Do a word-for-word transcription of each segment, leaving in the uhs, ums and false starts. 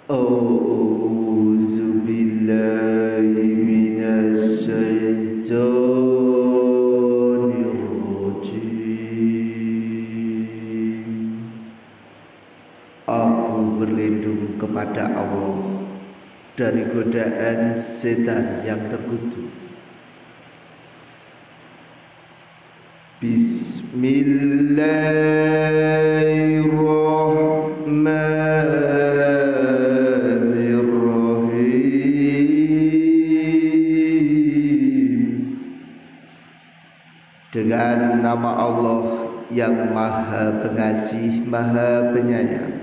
A'udzu billahi minasy syaithanir rajim. Aku berlindung kepada Allah dari godaan setan yang terkutuk. Bismillahirrahmanirrahim. Dengan nama Allah yang Maha Pengasih, Maha Penyayang.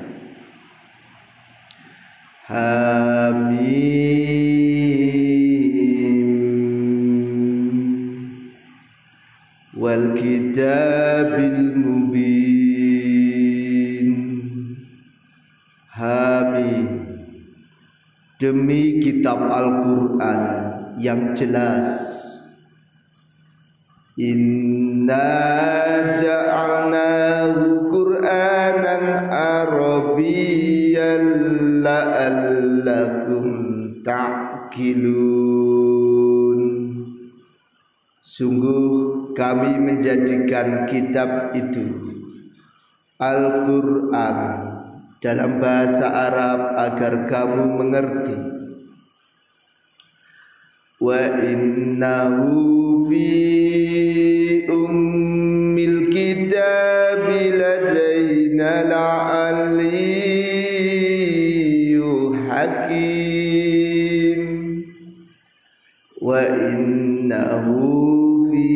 Hamim wal kitabil mubin. Hamim, demi kitab Al-Quran yang jelas. Inna ja'alnahu Qur'anan Arabiyyan la'allakum ta'qilun. Sungguh kami menjadikan kitab itu Al-Quran dalam bahasa Arab agar kamu mengerti. Wa innahu fi ummil kitabi ladaina la'aliyyu hakim. Wa innahu fi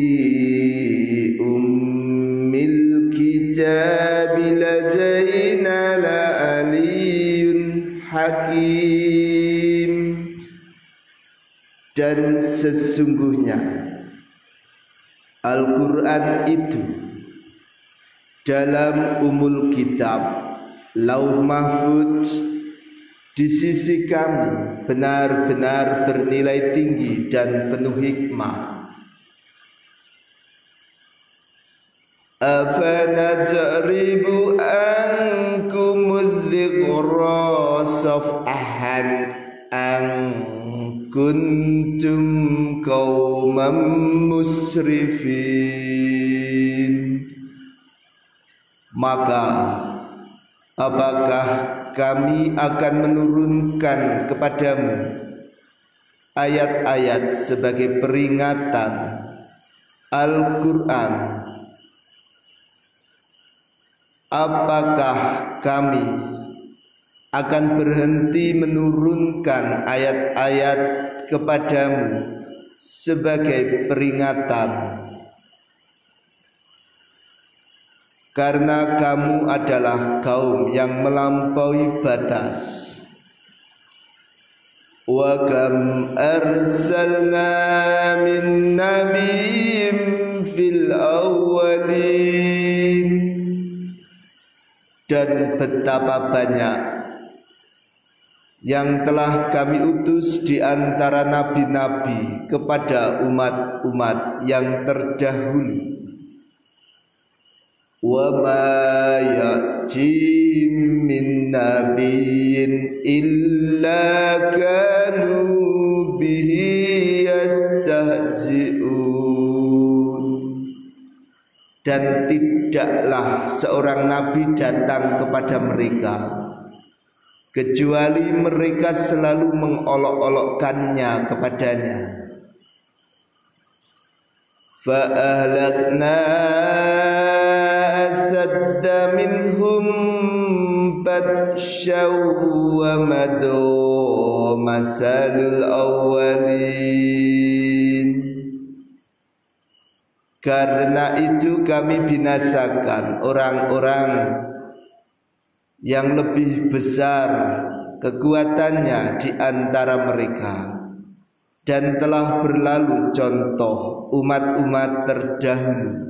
ummil kitabi ladaina la'aliyyun hakim. Dan sesungguhnya Al-Quran itu dalam umul kitab Lauh Mahfudz di sisi kami benar-benar bernilai tinggi dan penuh hikmah. Afanajribu ankumudz dzikra safhan an kuntum qauman musrifin. Maka apakah kami akan menurunkan kepadamu ayat-ayat sebagai peringatan Al-Quran? Apakah kami akan berhenti menurunkan ayat-ayat kepadamu sebagai peringatan, karena kamu adalah kaum yang melampaui batas. Wa kam arsalna min nabiyyin fil awwalin. Dan betapa banyak yang telah kami utus di antara nabi-nabi kepada umat-umat yang terdahulu. Wa ma ya'tim min nabiyyin illa kanu bihi yastahzi'un. Dan tidaklah seorang nabi datang kepada mereka kecuali mereka selalu mengolok-olokkannya kepadanya. Fa ahlakna asadda minhum batsyaw wa madu masalul awwalin. Karena itu kami binasakan orang-orang yang lebih besar kekuatannya di antara mereka, dan telah berlalu contoh umat-umat terdahulu.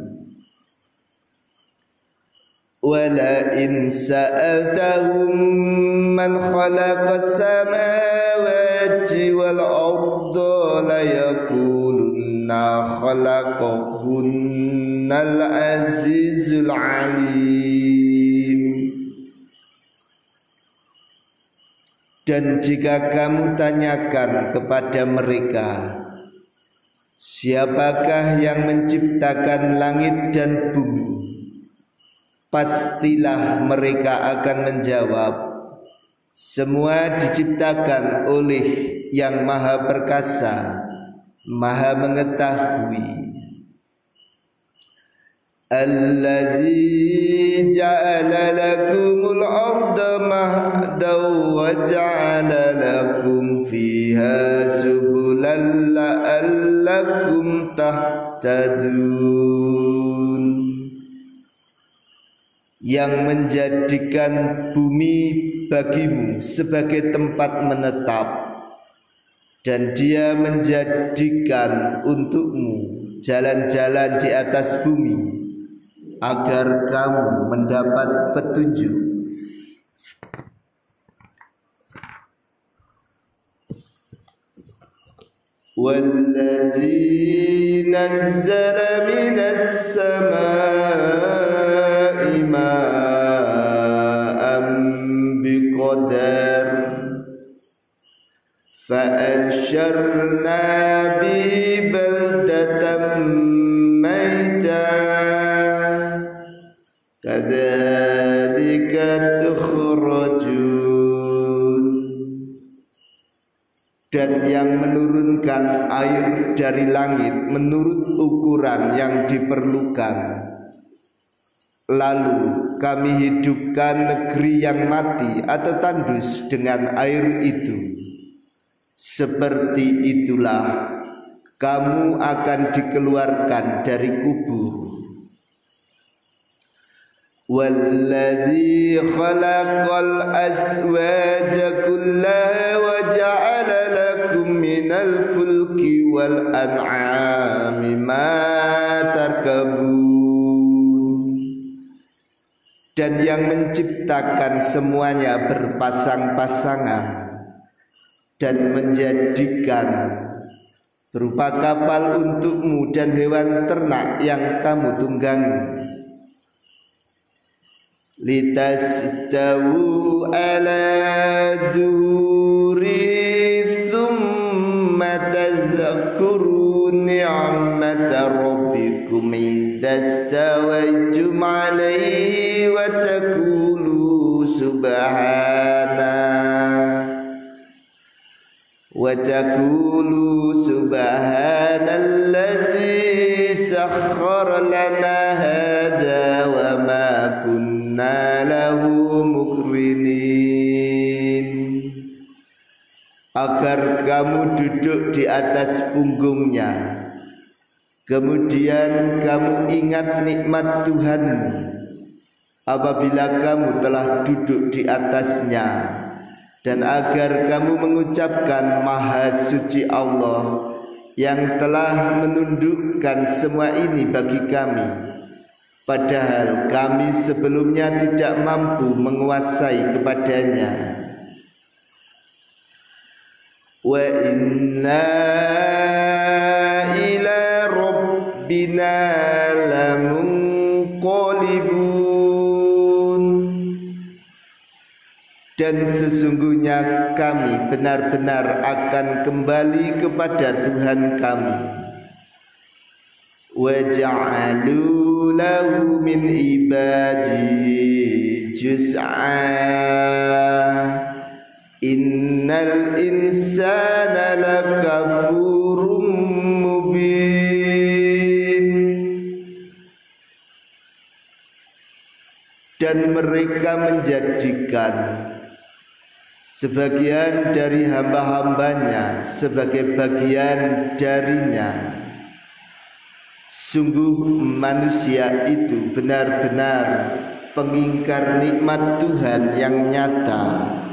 Wala in sa'altahum man khalaqas samawati wal arda la yaqulunna khalaqahunnal azizul alim. Dan jika kamu tanyakan kepada mereka, siapakah yang menciptakan langit dan bumi? Pastilah mereka akan menjawab, semua diciptakan oleh yang maha perkasa, maha mengetahui. Allazi ja'ala lakumul arda mahdan wa ja'ala lakum fiha subulan la'allakum tahtadun. Yang menjadikan bumi bagimu sebagai tempat menetap, dan Dia menjadikan untukmu jalan-jalan di atas bumi agar kamu mendapat petunjuk. Wallazi nazzala minas samaa'i ma'an biqadar fa'ansyarna bihi baldatan maytan kadzalika tukhrajun. Dan yang menurunkan air dari langit menurut ukuran yang diperlukan, lalu kami hidupkan negeri yang mati atau tandus dengan air itu. Seperti itulah kamu akan dikeluarkan dari kubur. Walladzi khalaqal azwaja kullaha wa ja'ala lakum minal fulki wal an'ami ma tarkabun. Dan yang menciptakan semuanya berpasang-pasangan dan menjadikan berupa kapal untukmu dan hewan ternak yang kamu tunggangi. Litastawu ala duri thumma tadhkuru ni'mata rabbikum idastawaitum alaihi wa taqulu subhana wa taqulu subhanallazi sakhkhara lana hada wa ma kunna lahu muqrinin. Agar kamu duduk di atas punggungnya, kemudian kamu ingat nikmat Tuhanmu apabila kamu telah duduk di atasnya, dan agar kamu mengucapkan maha suci Allah yang telah menundukkan semua ini bagi kami, padahal kami sebelumnya tidak mampu menguasai kepadanya. Wa inna ila rabbina lamunqalibun. Dan sesungguhnya kami benar-benar akan kembali kepada Tuhan kami. Wa ja'alu lahu min ibadihi juz'a innal insana lakafurum mubin. Dan mereka menjadikan sebagian dari hamba-hambanya sebagai bagian darinya. Sungguh manusia itu benar-benar pengingkar nikmat Tuhan yang nyata.